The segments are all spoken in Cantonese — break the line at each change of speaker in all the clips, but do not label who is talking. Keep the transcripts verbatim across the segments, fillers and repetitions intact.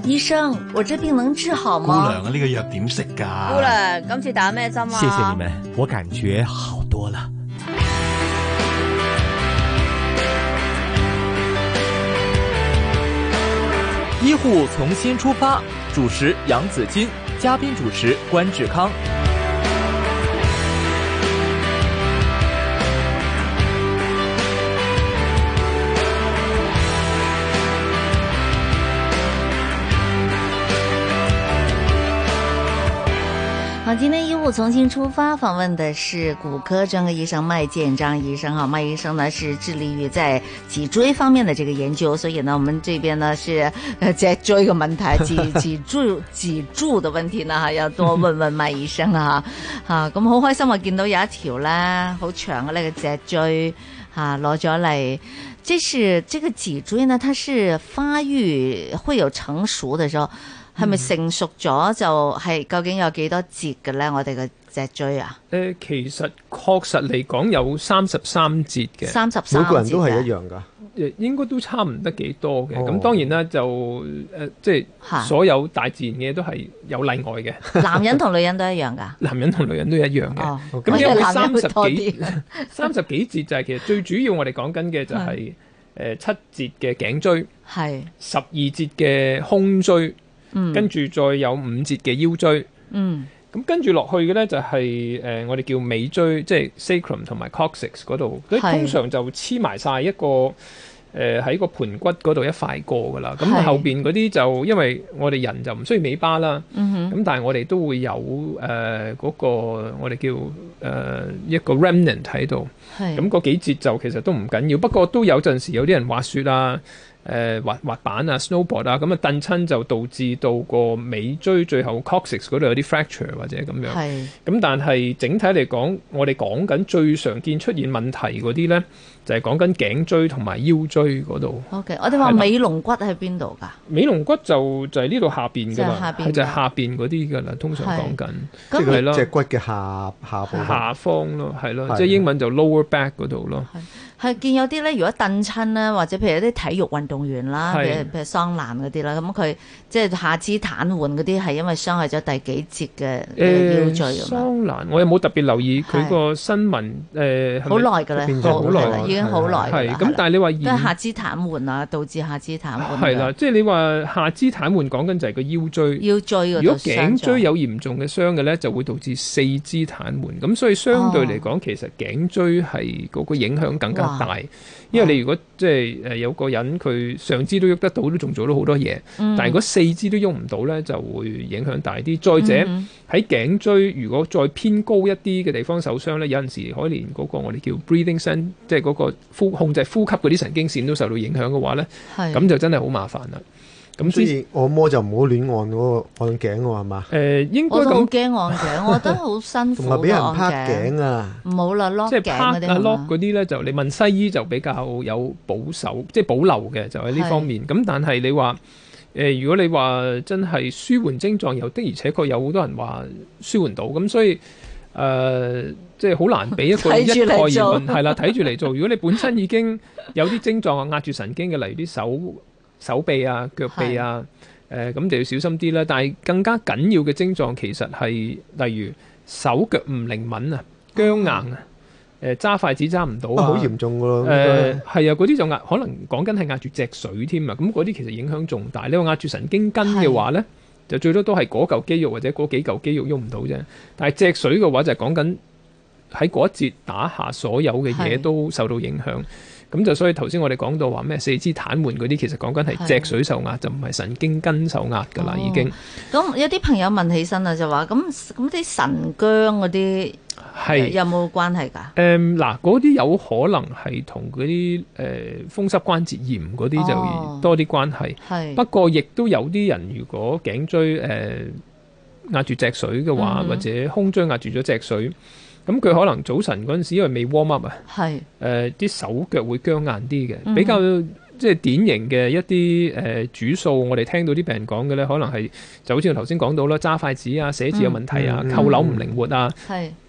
醫生，我這病能治好嗎？
姑娘啊，呢個藥點食㗎？
姑娘，今次打咩針啊？
謝謝你們，我感覺好多了。醫護從新出發，主持楊子矜，嘉賓主持關志康。
好，今天醫護重新出發，訪問的是骨科專科醫生麥建章醫生。哈，麥醫生呢是致力於在脊椎方面的這個研究，所以呢，我們這邊呢是呃脊椎嘅問題，脊脊柱脊柱的問題呢，哈，要多問問麥醫生啊。吓，咁好開心啊，見到有一條咧好長嘅呢個脊椎吓攞咗嚟。這是這個脊椎呢，它是發育會有成熟的時候。係咪成熟咗就係究竟有幾多節嘅咧？我哋嘅脊椎啊？
誒、呃，其實確實嚟講有三十三節嘅，
三十三節，
每個人都係一樣㗎。
誒，應該都差唔得幾多嘅。咁、
哦、
當然啦，就誒、呃，即係所有大自然嘅都係有例外嘅。
男人同女人都一樣㗎？
男人同女人都一樣嘅。
哦，
咁因為三十幾
幾
三十幾節就係其實最主要我哋講緊嘅就係、是、誒、呃、七節嘅頸椎，係十二節嘅胸椎。嗯、跟住再有五節嘅腰椎，嗯，咁跟住落去嘅咧就係、是、誒、呃、我哋叫尾椎，即係 sacrum 同埋 coccyx 嗰度，佢通常就黐埋晒一個誒喺、呃、個盤骨嗰度一塊過噶啦。咁後邊嗰啲就因為我哋人就唔需要尾巴啦，咁、嗯、但係我哋都會有誒嗰、呃那個我哋叫誒、呃、一個 remnant 喺度，咁嗰幾節就其實都唔緊要，不過都有陣時有啲人滑雪啊。誒、呃、滑滑板啊 snowboard 啊，咁啊蹬親就導致到個尾椎最後 coccyx 嗰度有啲 fracture 或者咁樣。係。咁但係整體嚟講，我哋講緊最常見出現問題嗰啲咧，就係講緊頸椎同埋腰椎嗰度。
OK， 我哋話尾龍骨喺邊度㗎？
尾龍骨就就係呢度下邊㗎啦，係就係下邊嗰啲㗎啦，通常講緊。
即係咯，脊骨嘅下下部
下方咯，係咯，即係英文就 lower back 嗰度咯。
係見有啲咧，如果蹬親咧，或者譬如有啲體育運動員啦，譬如譬如桑蘭嗰啲啦，咁佢即係下肢癱瘓嗰啲，係因為傷害咗第幾節嘅腰椎啊嘛。桑
蘭我有冇特別留意佢個新聞？誒，
好耐㗎啦，好耐啦，已經好耐。
係咁，但係你話
都係下肢癱瘓啊，導致下肢癱瘓。
係啦，即係你話下肢癱瘓講緊就係個腰椎。腰椎嗰度。如果頸椎有嚴重嘅傷嘅咧，就會導致四肢癱瘓。咁所以相對嚟講，其實頸椎係嗰個影響更加大，因為你如果即係誒有個人佢上肢都喐得到，都仲做到好多嘢、嗯，但係如果四肢都喐唔到咧，就會影響大啲。再者喺頸、嗯、椎如果再偏高一啲嘅地方受傷咧，有陣時可以連嗰個我哋叫 breathing sense，即係嗰個呼控制呼吸嗰啲神經線都受到影響嘅話咧，咁就真係好麻煩啦。
咁所以按摩就唔好亂按嗰個按頸喎，係嘛？
誒、呃，應該咁。
我都好驚按頸，我覺得好辛苦。
同埋俾人拍頸啊！
唔好啦，lock
即係拍啊 lock 嗰啲咧，就你問西醫就比較有保守，即係保留嘅，就喺呢方面。咁但係你話誒、呃，如果你話真係舒緩症狀，又的而且確有好多人話舒緩到，咁所以誒、呃，即係好難俾一個一概而論。係啦，睇住嚟做。如果你本身已經有啲症狀啊，壓住神經嘅，例如啲手。手臂啊、腳臂啊，誒咁、呃、就要小心啲啦。但係更加緊要嘅症狀其實係例如手腳唔靈敏啊、僵硬啊、誒、呃、揸筷子揸唔到啊，好、
啊、嚴重㗎咯。
誒係啊，嗰啲就壓可能講緊係壓住脊髓添啊。咁嗰啲其實影響重大。你話壓住神經根嘅話咧，就最多都係嗰嚿肌肉或者嗰幾嚿肌肉喐唔到啫。但係脊髓嘅話就係講緊喺嗰一節打下所有嘅嘢都受到影響。咁就所以頭先我哋講到話咩四肢癱瘓嗰啲，其實講緊係脊髓受壓，就唔係神經根受壓㗎啦，已經。
咁有啲朋友問起身啦，就話咁咁啲神經嗰啲係有冇關係㗎？誒
嗱，嗰啲有可能係同嗰啲誒風濕關節炎嗰啲就多啲關係。係、哦、不過亦都有啲人如果頸椎誒、呃、壓住脊髓嘅話、嗯，或者胸椎壓住咗脊髓。咁佢可能早晨嗰陣時，因為未 warm up 啊，係誒啲手腳會僵硬啲嘅、嗯，比較即係典型嘅一啲誒、呃、主數。我哋聽到啲病人講嘅咧，可能係就好似我頭先講到啦，揸筷子啊、寫字有問題啊、嗯、扣鈕唔靈活啊，係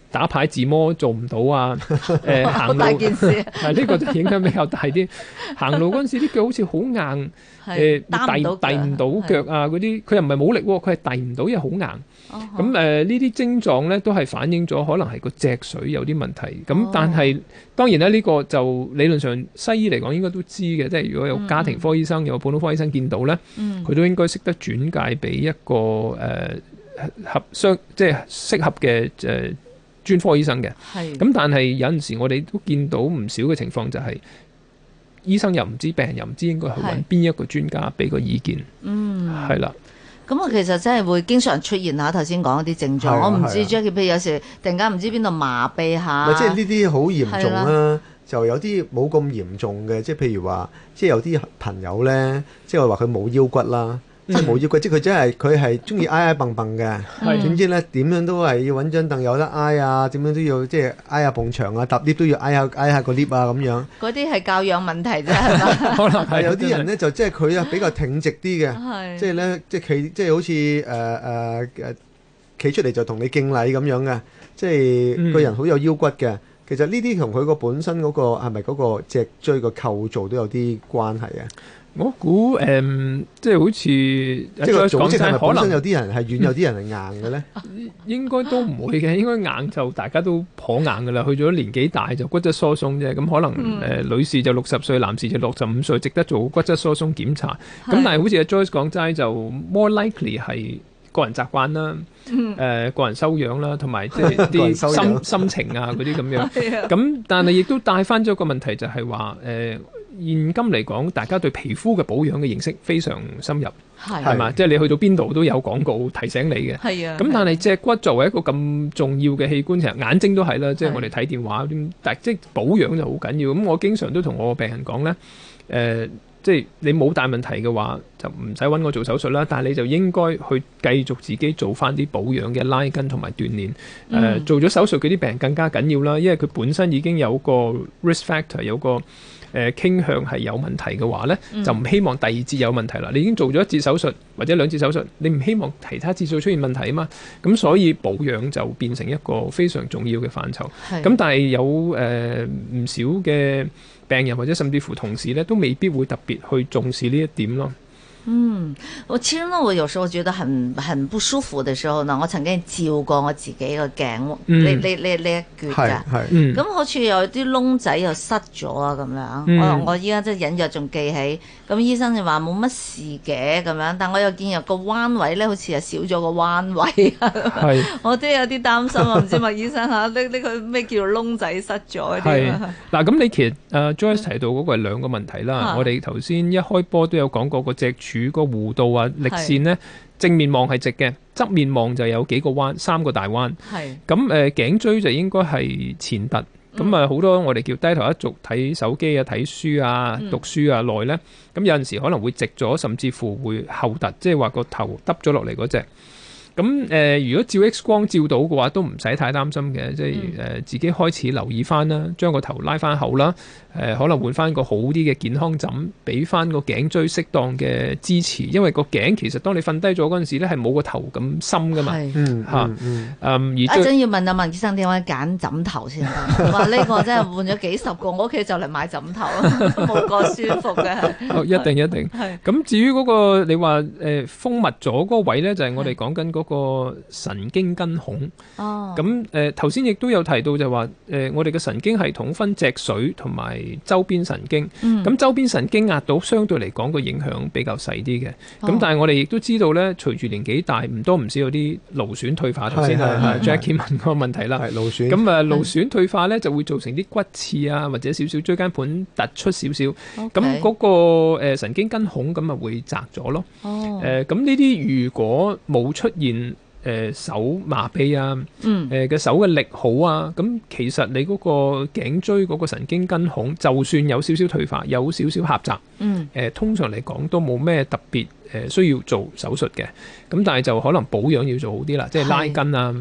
打牌自摸做唔到啊，誒、呃、行路
大件事，
係呢個就影響比較大啲。行路嗰陣時啲腳好似好硬，誒遞遞唔到腳啊嗰啲，佢又唔係冇力喎，佢係遞唔到，因為好硬。咁誒呢啲症狀咧都係反映咗可能係個脊髓有啲問題。咁、哦、但係當然咧呢、呢個就理論上西醫嚟講應該都知嘅，即係如果有家庭科醫生、嗯、有普通科醫生見到咧，佢、嗯、都應該識得轉介俾一個誒、呃、合相即係適合嘅誒、呃、專科醫生嘅。咁但係有陣時我哋都見到唔少嘅情況就係、是、醫生又唔知，病人又唔知應該去揾邊一個專家俾個意見。嗯，係啦。
咁啊，其實真係會經常出現下頭先講嗰啲症狀，我唔知 Jackie，譬如有時突然間唔知邊度麻痹下，
即係呢啲好嚴重啦，就有啲冇咁嚴重嘅，即係譬如話，即係有啲朋友咧，即係話佢冇腰骨啦。即係冇腰骨，即係佢真係佢係中意挨挨蹦蹦嘅。點知咧點樣都係要揾張凳有得挨啊，點樣都要即係挨下埲牆啊，搭 lift 都要挨下挨下個 lift 啊咁樣。
嗰啲係教養問題啫，係嘛？
可能係
有啲人咧就即係佢啊比較挺直啲嘅，即係咧即係企即係好似誒誒誒企出嚟就同你敬禮咁樣嘅，即係個人好有腰骨嘅。其實呢啲同佢個本身嗰個係咪嗰個脊椎個構造都有啲關係啊？
我估誒、嗯，即係好似即
係個組織係咪本身有啲人係軟，有啲人係硬嘅咧？
應該都唔會嘅，應該硬就大家都頗硬㗎啦。去咗年紀大就骨質疏鬆啫，咁可能誒、嗯呃、女士就六十歲，男士就六十五歲，值得做骨質疏鬆檢查。咁但係好似阿 Joyce 講齋，就 more likely 係個人習慣啦，誒、嗯呃、個人修養啦，同埋即係啲心心情啊嗰啲咁樣。咁但係亦都帶翻咗個問題，就係話誒。現今嚟講，大家對皮膚嘅保養嘅認識非常深入，係嘛？即係你去到邊度都有廣告提醒你嘅。係啊。咁但係脊骨作為一個咁重要嘅器官，其實眼睛都係啦。即係我哋睇電話，但即係保養就好緊要。咁我經常都同我個病人講咧，誒、呃，即係你冇大問題嘅話，就唔使揾我做手術啦。但係你就應該去繼續自己做翻啲保養嘅拉筋同埋鍛鍊。誒、呃嗯，做咗手術嗰啲病人更加緊要啦，因為佢本身已經有個 risk factor， 有個誒、呃、傾向係有問題嘅話呢、嗯、就唔希望第二節有問題啦。你已經做咗一節手術或者兩節手術，你唔希望其他節數出現問題啊嘛。咁所以保養就變成一個非常重要嘅範疇。咁但係有誒唔、呃、少嘅病人或者甚至乎同事呢，都未必會特別去重視呢一點咯。
嗯，我其實呢，我有時候覺得很很不舒服的時候呢，我曾經照過我自己個頸，呢呢呢呢一橛㗎，咁、嗯、好似有啲窿仔又塞咗啊咁樣。嗯、我我依家即係隱約仲記起，咁醫生就話冇乜事嘅咁樣，但我又見有個彎位咧，好似係少咗個彎位啊。我都有啲擔心啊，唔知麥醫生嚇呢呢個咩叫做窿仔塞咗啲啊？嗱，咁你其實誒、uh, Joyce 提到嗰個係兩個問題啦。我哋頭先一開波都有講過個脊柱個弧度啊，力線呢，正面望係直嘅，側面望就有幾個彎，三個大彎。係咁誒，頸椎就應該係前凸。咁啊，好多我哋叫低頭一族睇手機啊、睇書啊、嗯、讀書啊耐呢，咁有陣時可能會直咗，甚至乎會後凸，即係話個頭耷咗落嚟嗰隻。咁誒、呃，如果照 X 光照到嘅話，都唔使太擔心嘅，即係誒、呃、自己開始留意翻啦，將個頭拉翻後啦，誒、呃、可能換翻個好啲嘅健康枕，俾翻個頸椎適當嘅支持，因為個頸其實當你瞓低咗嗰陣時咧，係冇個頭咁深噶嘛，嚇，嗯，嗯，嗯，嗯，而一陣要問阿麥醫生點解揀枕頭先得，話呢個真係換咗幾十個，我屋企就嚟買枕頭，冇個舒服嘅。哦，一定一定。係。咁至於嗰、那個你話誒、呃、封密咗嗰個位咧，就係、是、我哋講緊嗰個神經根孔。哦。咁誒頭先亦都有提到就話誒、呃、我哋嘅神經系統分脊髓同埋周邊神經。嗯。咁周邊神經壓到相對嚟講個影響比較細啲嘅。咁、哦、但係我哋亦都知道咧，隨住年紀大，唔多唔少有啲勞損退化。頭先啊 Jackie 問個問題啦。係勞損。咁啊勞損退化咧就會造成啲骨刺啊，或者少少椎間盤突出少少。咁、okay. 嗰個誒神經根孔咁啊會窄咗咯。哦。誒咁呢啲如果冇出現誒、呃、手麻痹啊，嗯，誒、呃、嘅手嘅力好啊，咁其實你嗰個頸椎嗰個神經根孔，就算有少少退化，有少少狹窄，嗯，誒、呃、通常嚟講都冇咩特別誒、呃、需要做手術嘅，咁但係就可能保養要做好啲啦，即係拉筋啊。誒、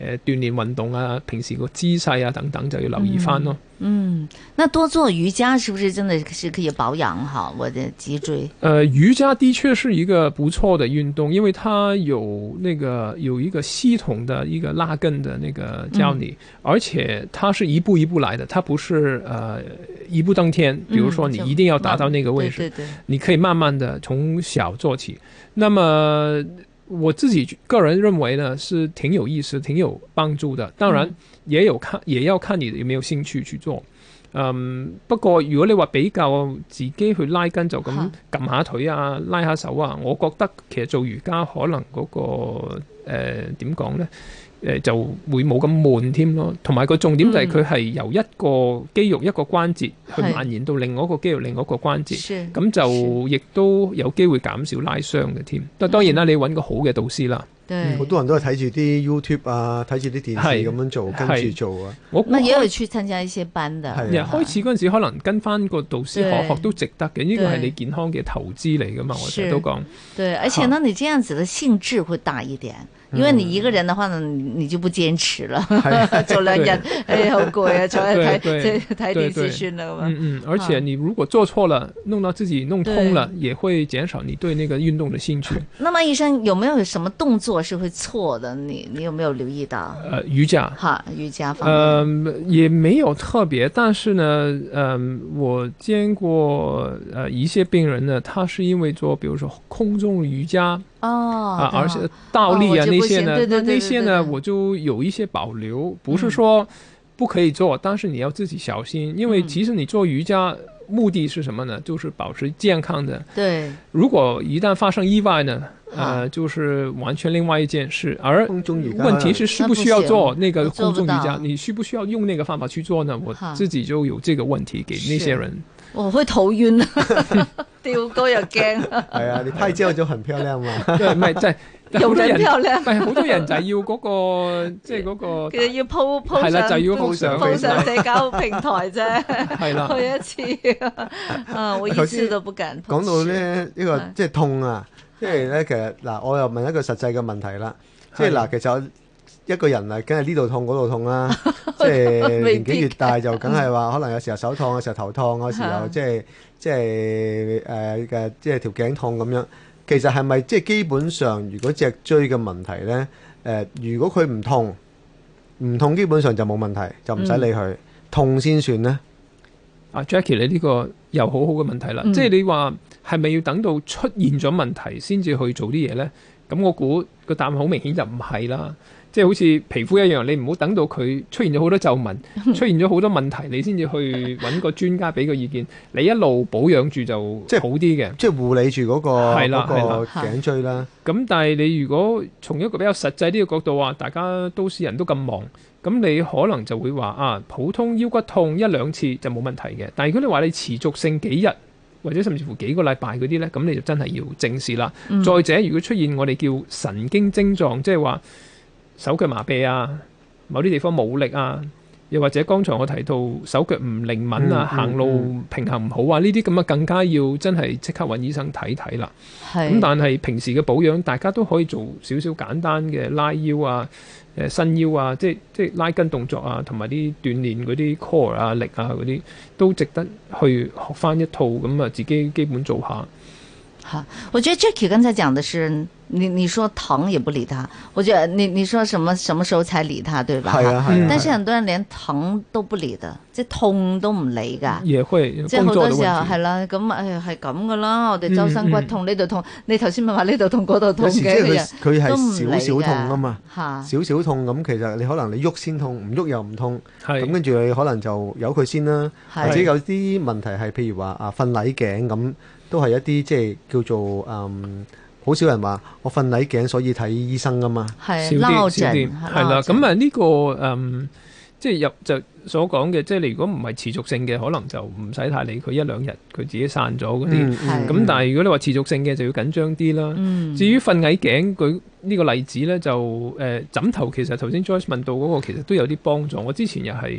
誒鍛鍊運動啊，平時個姿勢啊等等就要留意翻咯。
嗯，那多做瑜伽是不是真的是可以保養好我的脊椎？
呃，瑜伽的確是一個不錯的運動，因為它有那個有一個系統的一個拉筋的那個教你，嗯、而且它是一步一步來的，它不是呃一步登天。比如說你一定要達到那個位置，嗯、對對對，你可以慢慢的從小做起。那麼我自己個人認為呢，是挺有意思、挺有幫助的。當然，也有看，也要看你有沒有興趣去做。嗯，不過如果你話比較自己去拉筋，就咁撳下腿啊、拉下手啊，我覺得其實做瑜伽可能嗰、那個誒點講呢？誒、呃、就會冇咁悶添咯。同埋個重點就係佢係由一個肌肉、嗯、一個關節去蔓延到另外一個肌肉、另外一個關節，咁就亦都有機會減少拉傷嘅添。但當然啦，你揾個好嘅導師啦。
嗯，好多人都係睇住啲 YouTube 啊，睇住啲電視咁樣做，跟住做啊。
我那也有去參加一些班的。
係啊，開始嗰陣時可能跟翻個導師學學都值得嘅，呢個係你健康嘅投資嚟噶嘛，我成日都講。
對，而且呢，你這樣子的興致會大一點。因為你一個人的話呢，你就不堅持了，做兩日，哎，好攰啊，坐喺睇睇電視算啦咁啊。
嗯嗯，而且你如果做錯了，弄到自己弄痛了，也會減少你對那個運動的興趣。
那麼醫生有沒有什麼動作是會錯的？你你有沒有留意到？
呃，瑜伽。
哈，瑜伽方面。
呃，也沒有特別，但是呢，嗯、呃，我見過呃一些病人呢，他是因為做，比如說空中瑜伽。
哦，
啊，而且倒立啊、哦、那些呢，
對對對對對對，
那些呢我就有一些保留，不是說不可以做，嗯、但是你要自己小心，因為其實你做瑜伽目的是什麼呢？就是保持健康的。對，如果一旦發生意外呢，呃，就是完全另外一件事。而問題是需不需要做那個空中瑜伽？你需不需要用那個方法去做呢？我自己就有這個問題給那些人。
我會頭暈啊，吊高又驚。
係啊，你拍照就很漂亮嘛。
對，唔係即係
有人漂亮。
係好多人就係要嗰個，即係嗰個。
其實要 po po
係啦，就要 po 上
po 上社交平台啫。
係啦，
去一次啊，我一次都不敢。
講到咧呢個即係痛啊，即係咧其實嗱，我又問一個實際嘅問題啦，即係嗱，其實一個人啊，梗係呢度痛嗰度痛啦，即係年紀越大就梗係話，可能有時候手痛，有時候頭痛，有時候即係即係誒嘅即係條頸痛咁樣。其實係咪即係基本上，如果脊椎嘅問題咧，誒、呃，如果佢唔痛，唔痛基本上就冇問題，就唔使理佢，嗯、痛先算咧。
啊 Jackie， 你呢個又好好嘅問題啦，嗯、即係你話係咪要等到出現咗問題先至去做啲嘢咧？咁我估個答案好明顯就唔係啦。即係好似皮膚一樣，你唔好等到佢出現咗好多皺紋，出現咗好多問題，你先至去揾個專家俾個意見。你一路保養住就即係好啲嘅，即係護理住嗰個嗰個頸椎啦。咁但係你如果從一個比較實際啲嘅角度話，大家都市人都咁忙，咁你可能就會話啊，普通腰骨痛一兩次就冇問題嘅。但係如果你話你持續性幾日或者甚至乎幾個禮拜嗰啲呢，咁你就真係要正視啦。嗯、再者，如果出現我哋叫神經症狀，即係話手腳麻痹啊，某啲地方冇力啊，又或者剛才我提到手腳唔靈敏啊，嗯嗯、行路平衡唔好啊，呢啲咁啊更加要真係即刻揾醫生睇睇啦。咁但係平時嘅保養，大家都可以做少少簡單嘅拉腰啊、誒伸腰啊，即係即係拉筋動作啊，同埋啲鍛鍊嗰啲 core 啊、力啊嗰啲，都值得去學翻一套咁啊，自己基本做下。
好，我覺得 Jackie 剛才講的是，你你說疼也不理他，我覺得你你說什麼什麼時候才理他，對吧？係啊係啊。但是很多人連疼都不理的，即係痛都唔理噶。也會，即係好多時候係啦，咁誒係咁噶啦，我哋周身骨痛呢度痛，你頭先咪話呢度痛嗰度痛嘅，佢
佢係少少痛啊嘛，少少痛咁，其實你可能你喐先痛，唔喐又唔痛，咁跟住你可能就由佢先啦，或者有啲問題係譬如話啊瞓捩頸咁。都係一啲即係叫做嗯，好少人話我瞓捩頸所以睇醫生噶嘛，
少啲少啲，係啦。咁啊呢個嗯，即係入就所講嘅，即係你如果唔係持續性嘅，可能就唔使太理佢，一兩日佢自己散咗嗰啲。咁、嗯嗯、但係如果你話持續性嘅，就要緊張啲啦。嗯、至於瞓捩頸，佢呢個例子咧就誒、呃、枕頭，其實頭先 Joyce 問到嗰個其實都有啲幫助。我之前又係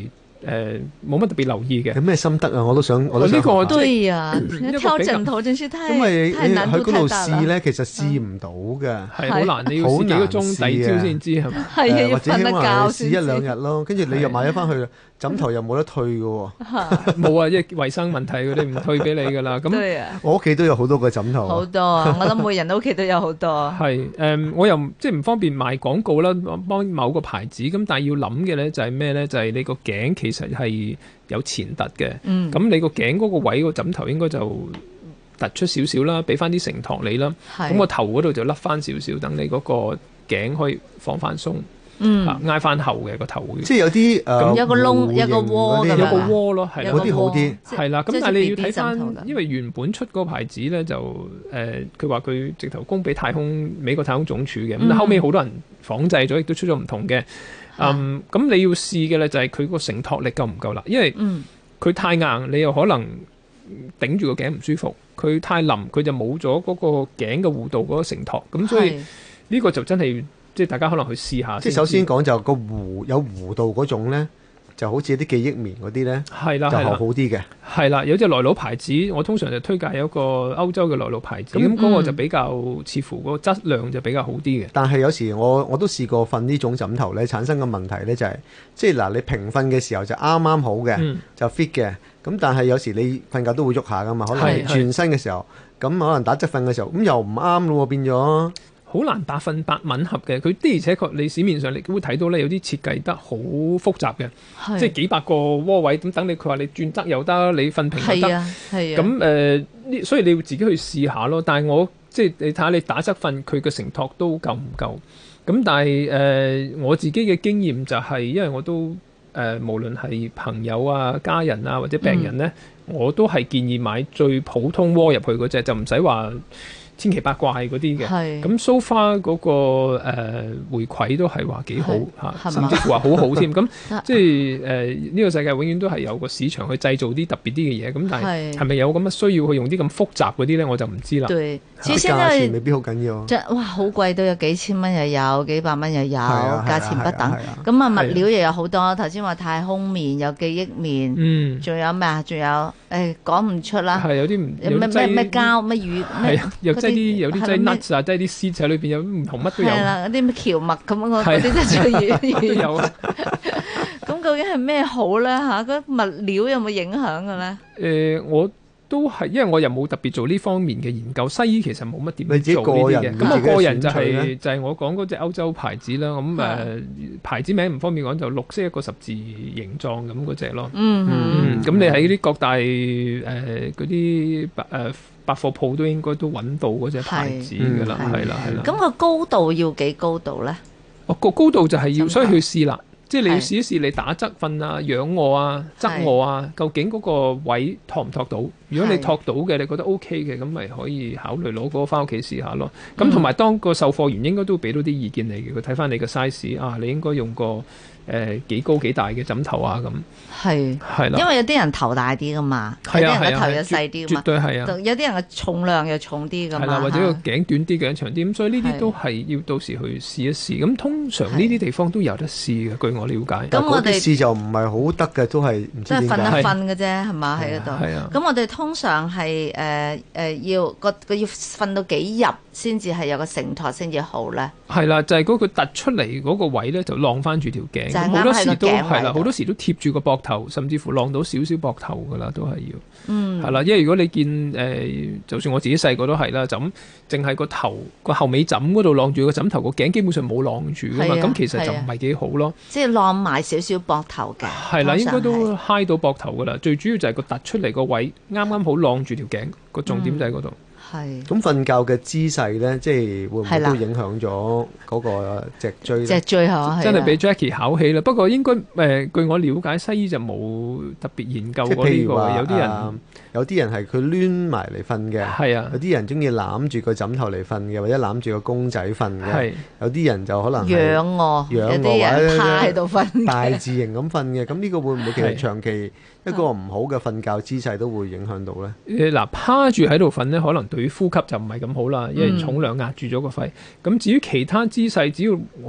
誒冇乜特別留意嘅。
有咩心得啊？我都想，我都想。
呢個
對啊，挑枕頭真是太，
因為
太難度太大啦。
喺嗰度試咧，其實試唔到嘅，
係好難，你要試幾個鐘抵朝先知係咪？
係啊，
或者起碼試一兩
日
日咯，跟住你又買咗翻去，枕頭又冇得退嘅喎。
冇啊，因為衞生問題，佢哋唔退俾你㗎啦。咁
我屋企都有好多個枕頭。
好多啊！我諗每人都屋企都有好多。
係誒，我又即係唔方便賣廣告啦，幫某個牌子咁，但係要諗嘅咧就係咩咧？就係你個頸其實係有前凸嘅，咁、嗯、你個頸嗰個位個枕頭應該就突出少少啦，俾翻啲承托你啦。咁個頭嗰度就甩翻少少，等你嗰個頸可以放翻鬆，嗯，挨翻後嘅個頭會。即
係有啲誒，
咁有個窿，有個窩，
有個窩咯，係
嗰啲好啲。
係啦，咁但係你要睇翻，因為原本出嗰個牌子咧就誒，佢話佢直頭供俾太空美國太空總署嘅，咁、嗯、後尾好多人仿製咗，亦都出咗唔同嘅。嗯，咁你要試嘅咧就係佢個承托力夠唔夠啦，因為佢太硬，你又可能頂住個頸唔舒服；佢太腍，佢就冇咗嗰個頸嘅弧度嗰個承托。咁所以呢個就真係即係大家可能去試下。即係
首先講就個弧有弧度嗰種咧。就好似啲記憶棉嗰啲咧，
係啦，
就好啲嘅。
係啦，有隻內佬牌子，我通常就推介有一個歐洲嘅內佬牌子，咁嗰、嗯、個就比較似乎個質量就比較好啲嘅。
但係有時我我都試過瞓呢種枕頭咧，產生嘅問題咧就係、是，即係嗱你平瞓嘅時候就啱啱好嘅，嗯、就 fit 嘅。咁但係有時你瞓覺都會喐下噶嘛，可能轉身嘅時候，咁可能打側瞓嘅時候，咁又唔啱咯，變咗。
好難百分百吻合嘅，佢的而且確你市面上你會睇到咧，有啲設計得好複雜嘅，即係幾百個窩位咁等你。佢話你轉側又得，你瞓平又得，係啊，咁誒、呃，所以你要自己去試下咯。但係我即係你睇下你打側瞓，佢嘅承托都夠唔夠？咁但係誒、呃，我自己嘅經驗就係、是，因為我都誒、呃，無論係朋友啊、家人啊或者病人咧，嗯、我都係建議買最普通窩入去嗰隻，就唔使話千奇百怪嗰啲嘅，咁 so far 嗰個誒、呃、回饋都係話幾好嚇，甚至乎話好好添。咁即係誒呢個世界永遠都係有個市場去製造啲特別啲嘅嘢。咁但係係咪有咁嘅需要去用啲咁複雜嗰啲咧？我就唔知啦。
對，
其實價錢未必好緊要。
即係哇，好貴都有幾千蚊又有，幾百蚊又有，價錢不等。咁啊物料又有好多。頭先話太空棉有記憶棉，嗯，仲有咩啊？仲有誒講唔出啦。係
有啲唔
咩咩咩膠咩魚咩？
即係啲有啲即係 nuts 啊，即係啲 seeds 喺裏邊有唔同乜都有。係
啦，嗰啲咩蕎麥咁樣嗰啲真係最遠。有啊。咁究竟係咩好咧？嚇，嗰物料有冇影響嘅咧？
誒，我都係，因為我又冇特別做呢方面嘅研究。西醫其實冇乜點做呢啲嘅。咁我個人就係就係我講嗰隻歐洲牌子啦。咁誒牌子名唔方便講，就綠色一個十字形狀咁嗰隻咯。嗯嗯。咁你喺啲各大誒嗰啲誒百貨鋪都應該都揾到嗰隻牌子㗎啦，係啦係啦。
咁個高度要幾高度咧？
哦，個高度就係要，所以去試啦。即係你要試一試，你打側瞓啊、仰臥啊、側臥啊，究竟嗰個位托唔托到？如果你托到嘅，你覺得 OK 嘅，咁咪可以考慮攞嗰個翻屋企試下咯。咁同埋當個售貨員應該都俾到啲意見你嘅，佢睇翻你個 size 啊，你應該用個誒幾高幾大嘅枕頭啊咁。係係啦，
因為有啲人頭大啲噶嘛，有啲人個頭又細啲噶嘛，
絕對係啊。
有啲人嘅重量又重啲噶嘛，
係啦，或者個頸短啲、頸長啲，咁所以呢啲都係要到時去試一試。咁通常呢啲地方都有得試嘅，據我了解。
咁我哋
試就唔係好得嘅，都係唔知點解。
即係瞓一瞓嘅啫，係嘛喺嗰度。
係啊。
咁我哋通常係誒誒要個個要瞓到幾入先至係有個承托先至好咧。係
啦，就係嗰個突出嚟嗰個位咧，就晾翻住條頸。好多時都係啦，好多時都貼住個膊頭，甚至乎晾到少少膊頭噶啦，都係要。嗯。係啦，因為如果你見誒、呃，就算我自己細個都係啦，就咁淨係個頭個後尾枕嗰度晾住個枕頭，個頸基本上冇晾住噶嘛，咁其實就唔係幾好咯。
即係晾埋少少膊頭嘅。
係啦，應該都揩到膊頭噶啦，最主要就係個突出嚟個位啱啱好晾住條頸，個重點就喺嗰度。
係。
咁瞓覺嘅姿勢咧，即係會唔會都影響咗嗰個脊椎？
脊椎嚇，
真係俾 Jackie 考起啦。不過應該誒、呃，據我了解，西醫就冇特別研究過呢、這個。有啲人、呃、有啲人係佢攣埋嚟瞓嘅，係啊。有啲人中意攬住個枕頭嚟瞓嘅，或者攬住個公仔瞓嘅。係。有啲人就可能
仰臥，有啲人趴喺度瞓，
大字型咁瞓嘅。咁呢個會唔會其實長期一個唔好嘅瞓覺姿勢都會影響到咧？誒嗱、
呃，趴住喺度瞓咧，可能對於呼吸就唔係咁好啦，因為重量壓住咗個肺。咁、嗯、至於其他姿勢，只要我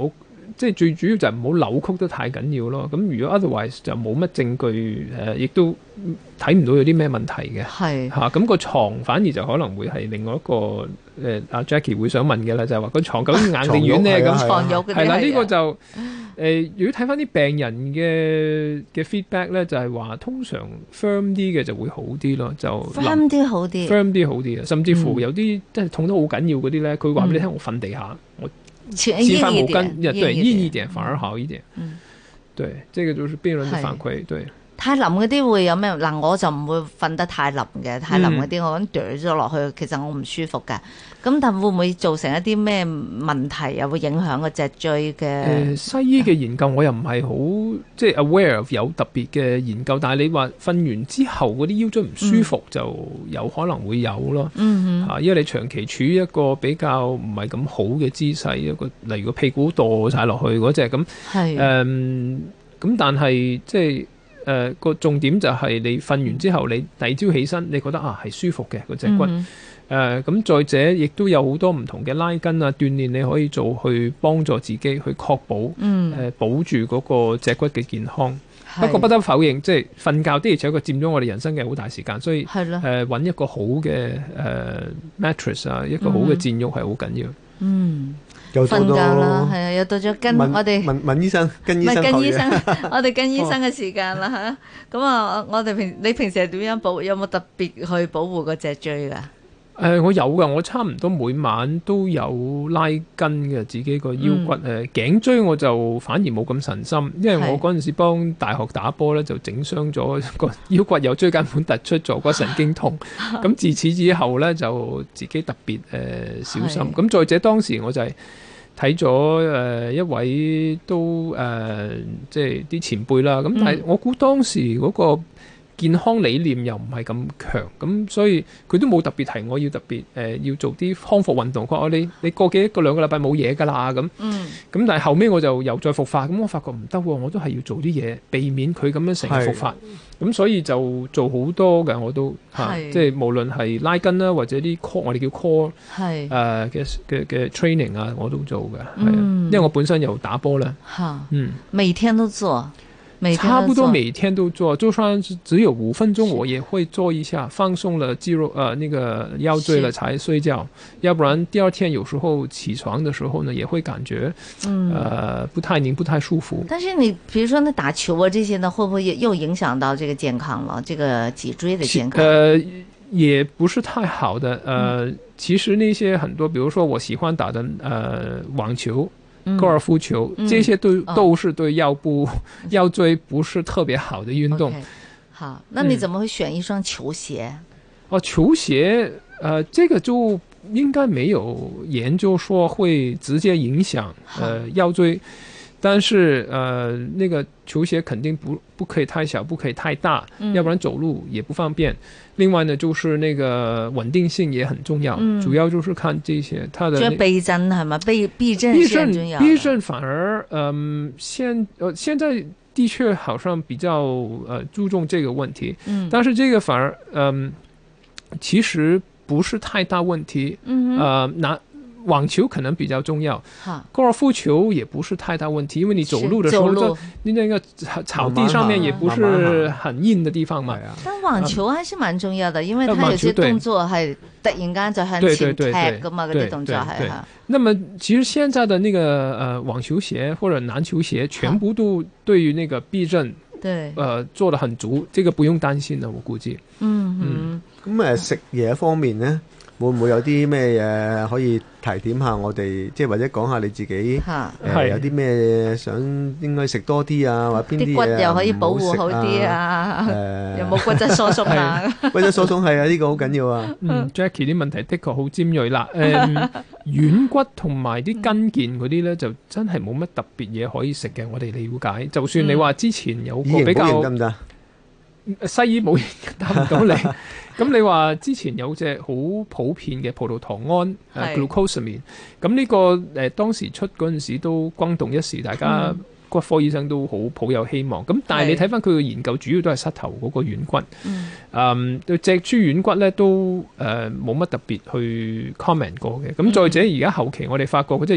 即係最主要就係唔好扭曲得太緊要咯。咁如果 otherwise 就冇乜證據誒，亦、呃、都睇唔到有啲咩問題嘅。係嚇，咁、啊個床反而就可能會係另外一個誒阿、呃、Jackie 會想問嘅啦，就係、是、話個床究竟硬定軟咧？咁
床褥
係啦，呢、呢個就誒、呃，如果睇翻啲病人嘅嘅 feedback 咧，就係話通常 firm 啲嘅就會好啲咯，就
firm 啲好啲
，firm 啲好啲啊，甚至乎有啲即係痛得好緊要嗰啲咧，佢話俾你聽，我瞓地下，我黐翻毛巾，對，硬一點反而好一點。嗯，對，這個就是病人的反饋，對。
太腍嗰啲會有咩？嗱，我就唔會瞓得太腍嘅，太腍嗰啲我咁啄咗落去，其實我唔舒服㗎。咁但會唔會造成一啲咩問題，又會影響個脊椎嘅？誒、
呃，西醫嘅研究我又唔係好即係 aware of 有特別嘅研究，但係你話瞓完之後嗰啲腰椎唔舒服、嗯、就有可能會有咯。嗯哼，啊，因為你長期處於一個比較唔係咁好嘅姿勢，一個例如個屁股墮晒落去嗰隻咁。係誒，咁、呃、但係即係。誒、呃、個重點就係你瞓完之後，你第二朝起身，你覺得啊係舒服嘅個脊骨。誒咁、嗯呃、再者，亦都有好多唔同嘅拉筋啊鍛鍊，你可以做去幫助自己去確保誒、嗯呃、保住嗰個脊骨嘅健康。不過不得否認，即係瞓覺的而且確佔咗我哋人生嘅好大時間，所以誒揾、呃、一個好嘅誒、呃、mattress 啊，一個好嘅墊褥係好緊要。嗯。
瞓覺啦，係啊，又到咗跟我哋
問問醫生，跟醫生，
跟醫生，我哋跟醫生嘅時間啦嚇。咁啊，我哋平你平時係點樣保？有冇特別去保護個脊椎㗎？
誒、呃，我有噶，我差唔多每晚都有拉筋嘅，自己個腰骨誒、嗯呃、頸椎我就反而冇咁神心，因為我嗰陣時幫大學打波咧，就整傷咗個腰骨，有椎間盤突出，坐骨神經痛。咁自此之後咧，就自己特別誒、呃、小心。咁再者當時我就係睇咗誒一位都誒、呃、即係啲前輩啦。咁但係我估當時嗰、嗰個健康理念又唔係咁強，咁所以佢都冇特別提我要特別誒、呃、要做啲康復運動。佢話你你過幾一個兩個禮拜冇嘢㗎啦咁。咁、嗯、但係後尾我就又再復發，咁我發覺唔得喎，我都係要做啲嘢避免佢咁樣成日復發。咁所以就做好多嘅，我都嚇、啊，即係無論係拉筋啦，或者啲 core 我哋叫 core 誒嘅嘅嘅 training 啊，我都做嘅。係啊、嗯，因為我本身又打波啦。嚇，嗯，
每天都做。
差不多每天都做，就算只有五分鐘，我也會做一下，放鬆了肌肉，呃，那個腰椎了才睡覺。要不然第二天有時候起床的時候呢，也會感覺，嗯、呃，不太寧，不太舒服。
但是你，比如說你打球啊這些呢，會不會又影響到這個健康了？這個脊椎的健康？
呃，也不是太好的。呃，嗯、其實那些很多，比如說我喜歡打的，呃，網球。高爾夫球，嗯、這些都、嗯、都是對腰部、哦、腰椎不是特別好的運動。Okay.
好，那你怎麼會選一雙球鞋？
嗯、哦，球鞋，呃，這個就應該沒有研究說會直接影響呃腰椎，但是呃那個球鞋肯定不不可以太小，不可以太大，嗯、要不然走路也不方便。另外呢，就是那個穩定性也很重要，嗯、主要就是看這些它的。就
避震係嘛？避避震是很重要。
避震反而，嗯、呃，現呃現在的確好像比較呃注重這個問題，嗯，但是這個反而，嗯、呃，其實不是太大問題，嗯，呃，拿。網球可能比較重要，高爾夫球也不是太大問題，因為你走路的時候，你那個草地上面也不是很硬的地方嘛。
但網球還是蠻重要的，因為它有些動作係突然間就向前踢噶嘛，嗰啲動作係哈。
那麼其實現在的那個呃網球鞋或者籃球鞋，全部都對於那個避震，對，呃做得很足，這個不用擔心的，我估計。嗯
嗯，咁誒食嘢方面呢？會唔會有啲咩嘢可以提點下我哋，即係或者講下你自己誒、呃、有啲咩想應該食多啲啊，或者邊啲嘢
骨又可以保護好啲啊？誒有冇骨質疏鬆啊？
骨質疏鬆係啊，呢、這個好緊要啊。
嗯 Jackie 啲問題的確好尖鋭啦。誒、呃、軟骨同埋啲筋腱嗰啲咧，就真係冇乜特別嘢可以食嘅。我哋了解，就算你話之前有個比較得唔得？西醫冇答唔到你。咁你話之前有隻好普遍嘅葡萄糖胺誒 glucosamine，咁呢個誒、呃、當時出嗰陣時都轟動一時，大家骨科醫生都好抱有希望。咁、嗯、但係你睇翻佢嘅研究，主要都係膝頭嗰個軟骨。嗯，嗯對脊柱軟骨咧都誒冇乜特別去 comment 過嘅。咁再者而家後期我哋發覺嗰隻藥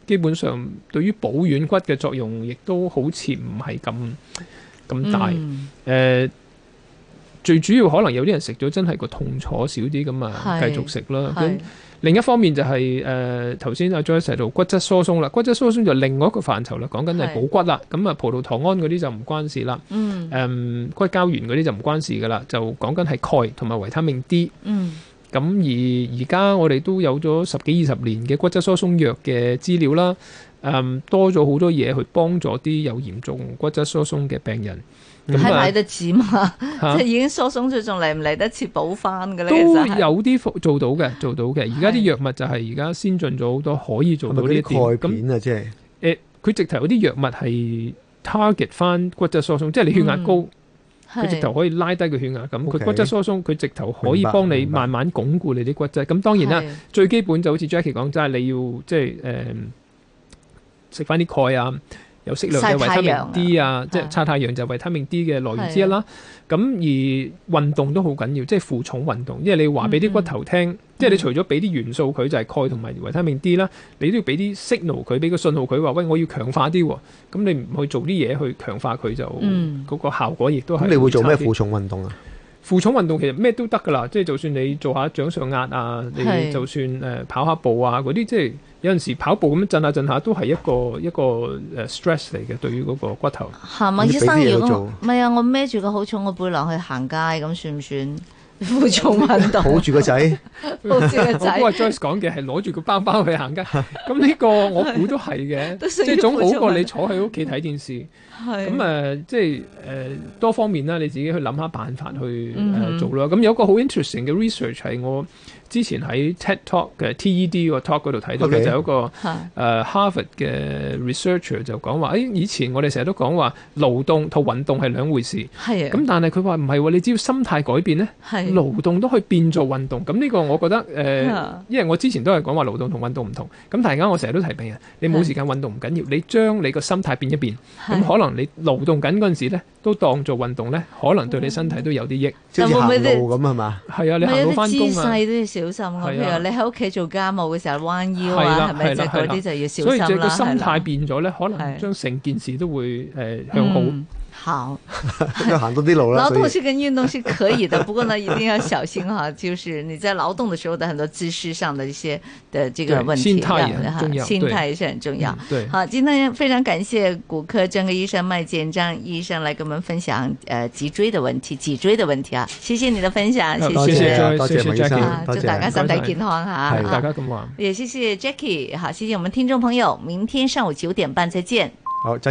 基本上對於保軟骨嘅作用，亦都好似唔係咁咁大。誒、嗯呃，最主要可能有啲人食咗真係個痛楚少啲，咁啊繼續食啦。咁另一方面就係誒頭先阿 Joyce 提到骨質疏鬆啦，骨質疏鬆就另外一個範疇啦，講緊係補骨啦。咁啊葡萄糖胺嗰啲就唔關事啦。嗯。誒、嗯、骨膠原嗰啲就唔關事噶啦，就講緊係鈣同埋維他命 D。嗯。咁而而家我哋都有咗十幾二十年嘅骨質疏鬆藥嘅資料啦。誒、嗯、多咗好多嘢去幫助啲有嚴重骨質疏鬆嘅病人。
係嚟得切嘛？啊、即係已經疏鬆咗，仲嚟唔嚟得切補翻嘅咧？
都有啲做到嘅，做到嘅。而家啲藥物就係而家先進咗好多，可以做到呢啲
鈣片啊，即係
誒，佢直頭有啲藥物係 target 翻骨質疏鬆，即係你血壓高，佢、嗯、直頭可以拉低個血壓咁。佢、okay, 骨質疏鬆，佢直頭可以幫你慢慢鞏固你啲骨質。咁當然啦，最基本就好似 Jackie 講，就係你要即係誒食翻啲鈣啊。有適量嘅維他命 D 啊，即係曬太陽就維他命 D 嘅來源之一啦。咁而運動都好緊要，即係負重運動，因為你話俾啲骨頭聽，嗯、即係你除咗俾啲元素佢就係鈣同埋維他命 D 啦，你都要俾啲 signal 佢，俾個信號佢話喂，我要強化啲喎。咁你唔去做啲嘢去強化佢就嗰、嗯、個效果亦都係。咁你
會做咩負重運動啊？
負重運動其實咩都得噶啦，即係就算你做下掌上壓啊，你就算誒、呃、跑下步啊嗰啲，即係有陣時跑步咁震下震下都係一個一個誒 stress 嚟嘅，對於嗰個骨頭。
係嘛，醫生如果唔係啊，我孭住個好重嘅背囊去行街，咁算唔算負重運動？
抱住個仔，
抱住個仔。
我估阿 Joyce 講嘅係攞住個包包去行街，咁呢個我估都係嘅，即係總好過你坐喺屋企睇電視。咁誒、呃，即係誒、呃、多方面啦，你自己去諗下辦法去誒、嗯呃、做啦。咁有個好 interesting 嘅 research 係我之前喺 TED Talk 嘅 T E D 個 talk 嗰度睇到嘅， okay. 就有一個誒、呃、Harvard 嘅 researcher 就講話，誒以前我哋成日都講話勞動同運動係兩回事，係咁但係佢話唔係喎，你只要心態改變咧，勞動都可以變做運動。咁呢個我覺得誒、呃，因為我之前都係講話勞動同運動唔同。咁但係而家我成日都提病人，你冇時間運動唔緊要，你將你個心態變一變，咁可能你勞動緊嗰陣時咧，都當做運動咧，可能對你身體都有啲益。
即係行路咁係嘛？
係啊，你行路翻工啊。
姿勢都要小心啊。譬如你喺屋企做家務嘅時候彎腰啊，係咪？即係嗰啲就要小心啦。
所以就個心態變咗咧，可能將成件事都會誒、呃、向好。嗯
好，
行多啲路啦。
勞動是跟運動是可以的，不過呢，一定要小心哈，就是你在勞動的時候的很多姿勢上的一些的這個問題，
心態也很重要，
心態是很重要。
嗯、對，
好，今天非常感謝骨科專科醫生麥建章醫生來跟我們分享誒脊椎的問題，脊椎的問題啊，謝謝你的分享，謝謝，
多謝，多謝麥醫生，
祝大家身體健康哈，
大家咁話，
也謝謝 Jackie，好，謝謝我們聽眾朋友，明天上午九點半再見。
好。